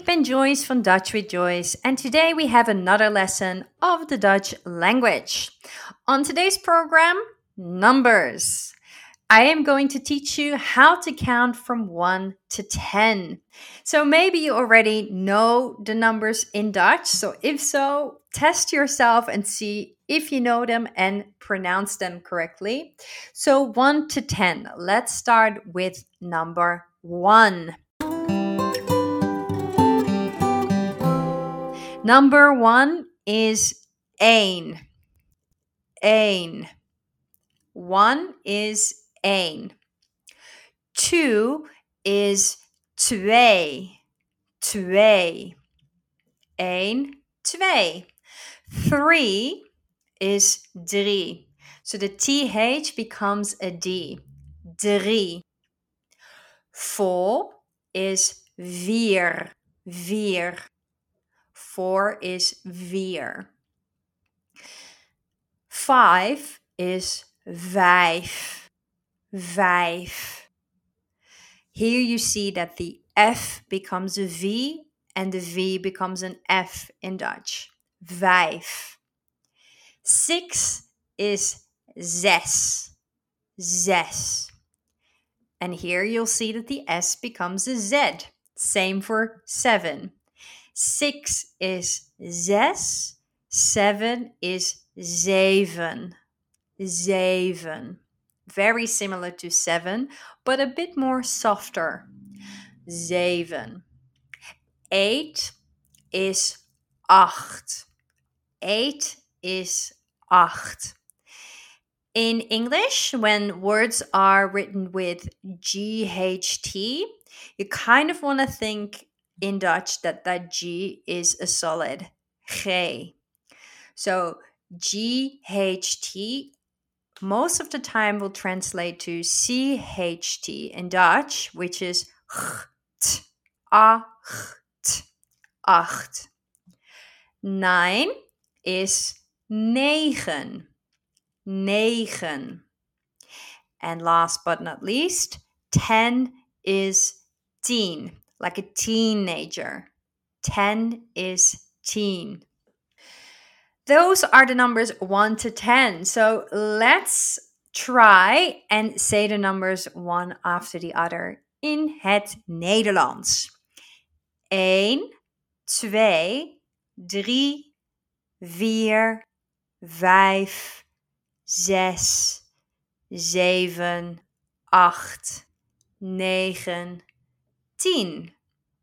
ben Joyce van Dutch with Joyce, and today we have another lesson of the Dutch language. On today's program, numbers. I am going to teach you how to count from 1 to 10. So maybe you already know the numbers in Dutch. So if so, test yourself and see if you know them and pronounce them correctly. So 1 to 10. Let's start with number 1. Number 1 is één. Één. 1 is één. 2 is twee. Twee. 1, 2. 3 is drie. So the TH becomes a D. Drie. 4 is vier. Vier. 4 is vier. 5 is vijf. Vijf. Here you see that the F becomes a V and the V becomes an F in Dutch. Vijf. 6 is zes. Zes. And here you'll see that the S becomes a Z. Same for 7. 6 is zes. 7 is zeven. Zeven. Very similar to 7, but a bit more softer. Zeven. 8 is acht. 8 is acht. In English, when words are written with GHT, you kind of want to think in Dutch that G is a solid. G. So GHT most of the time will translate to CHT in Dutch, which is cht, acht, acht. 9 is negen. Negen. And last but not least, 10 is tien, like a teenager. 10 is teen. Those are the numbers 1 to 10. So let's try and say the numbers one after the other in het Nederlands. 1, 2, 3, 4, 5, 6, 7, 8, 9, 10.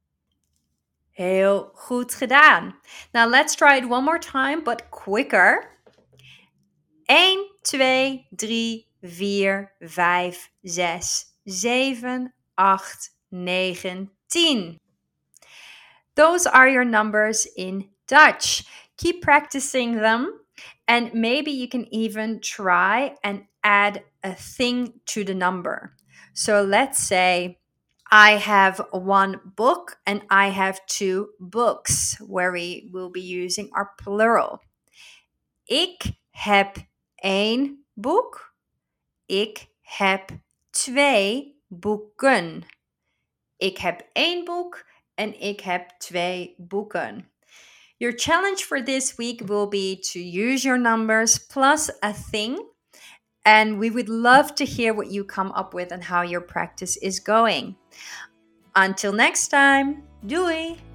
Heel goed gedaan. Now let's try it one more time, but quicker. 1, 2, 3, 4, 5, 6, 7, 8, 9, 10. Those are your numbers in Dutch. Keep practicing them, and maybe you can even try and add a thing to the number. So let's say I have 1 book and I have 2 books, where we will be using our plural. Ik heb 1 boek. Ik heb 2 boeken. Ik heb 1 boek en ik heb 2 boeken. Your challenge for this week will be to use your numbers plus a thing. And we would love to hear what you come up with and how your practice is going. Until next time, doei!